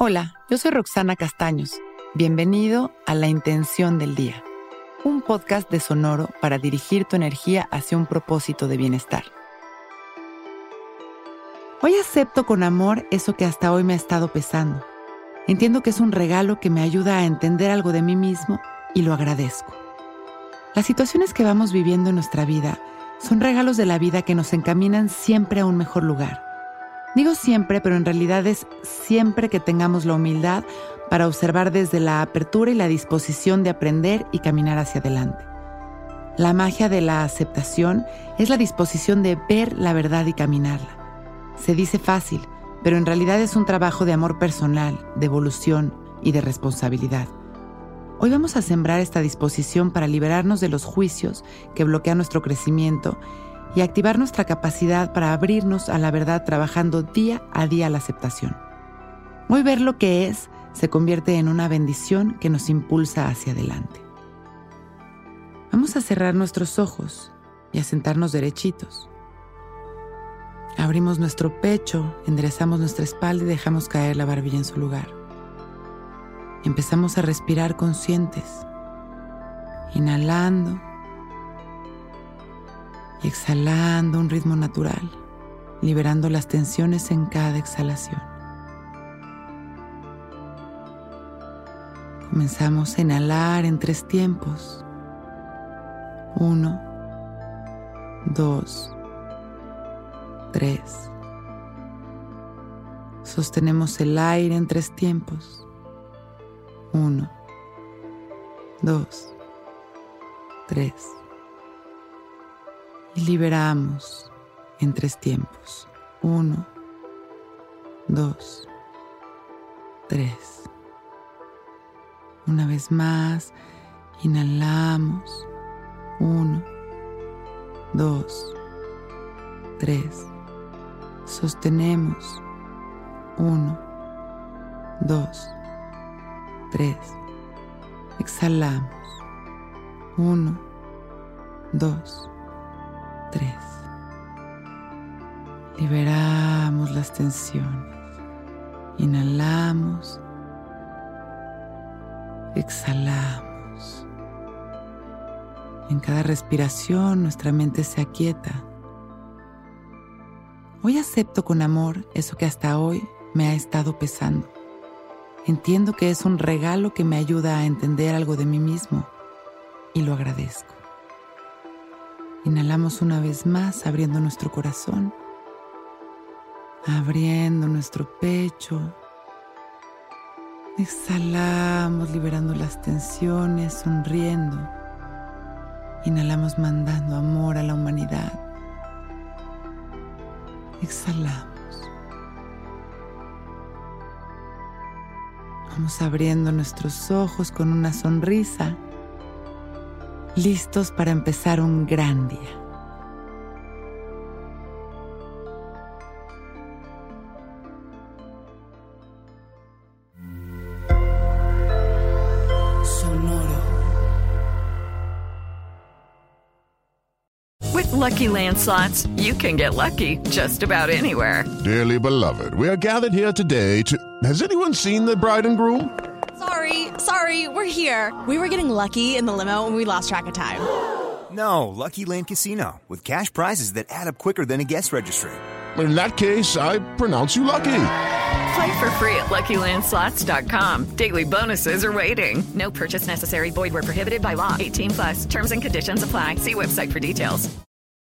Hola, yo soy Roxana Castaños. Bienvenido a La Intención del Día, un podcast de Sonoro para dirigir tu energía hacia un propósito de bienestar. Hoy acepto con amor eso que hasta hoy me ha estado pesando. Entiendo que es un regalo que me ayuda a entender algo de mí mismo y lo agradezco. Las situaciones que vamos viviendo en nuestra vida son regalos de la vida que nos encaminan siempre a un mejor lugar. Digo siempre, pero en realidad es siempre que tengamos la humildad para observar desde la apertura y la disposición de aprender y caminar hacia adelante. La magia de la aceptación es la disposición de ver la verdad y caminarla. Se dice fácil, pero en realidad es un trabajo de amor personal, de evolución y de responsabilidad. Hoy vamos a sembrar esta disposición para liberarnos de los juicios que bloquean nuestro crecimiento y activar nuestra capacidad para abrirnos a la verdad trabajando día a día la aceptación. Hoy ver lo que es se convierte en una bendición que nos impulsa hacia adelante. Vamos a cerrar nuestros ojos y a sentarnos derechitos. Abrimos nuestro pecho, enderezamos nuestra espalda y dejamos caer la barbilla en su lugar. Empezamos a respirar conscientes, inhalando y exhalando a un ritmo natural, liberando las tensiones en cada exhalación. Comenzamos a inhalar en 3 tiempos. 1, 2, 3. Sostenemos el aire en 3 tiempos. 1, 2, 3. Y liberamos en 3 tiempos. 1, 2, 3. Una vez más, inhalamos. 1, 2, 3. Sostenemos. 1, 2, 3. Exhalamos. 1, 2, 3. Liberamos las tensiones. Inhalamos. Exhalamos. En cada respiración nuestra mente se aquieta. Hoy acepto con amor eso que hasta hoy me ha estado pesando. Entiendo que es un regalo que me ayuda a entender algo de mí mismo y lo agradezco. Inhalamos una vez más, abriendo nuestro corazón, abriendo nuestro pecho. Exhalamos, liberando las tensiones, sonriendo. Inhalamos, mandando amor a la humanidad. Exhalamos. Vamos abriendo nuestros ojos con una sonrisa, listos para empezar un gran día. With Lucky Land Slots, you can get lucky just about anywhere. Dearly beloved, we are gathered here today to... Has anyone seen the bride and groom? Sorry, we're here. We were getting lucky in the limo and we lost track of time. No, Lucky Land Casino, with cash prizes that add up quicker than a guest registry. In that case, I pronounce you lucky. Play for free at LuckyLandSlots.com. Daily bonuses are waiting. No purchase necessary. Void where prohibited by law. 18+. Terms and conditions apply. See website for details.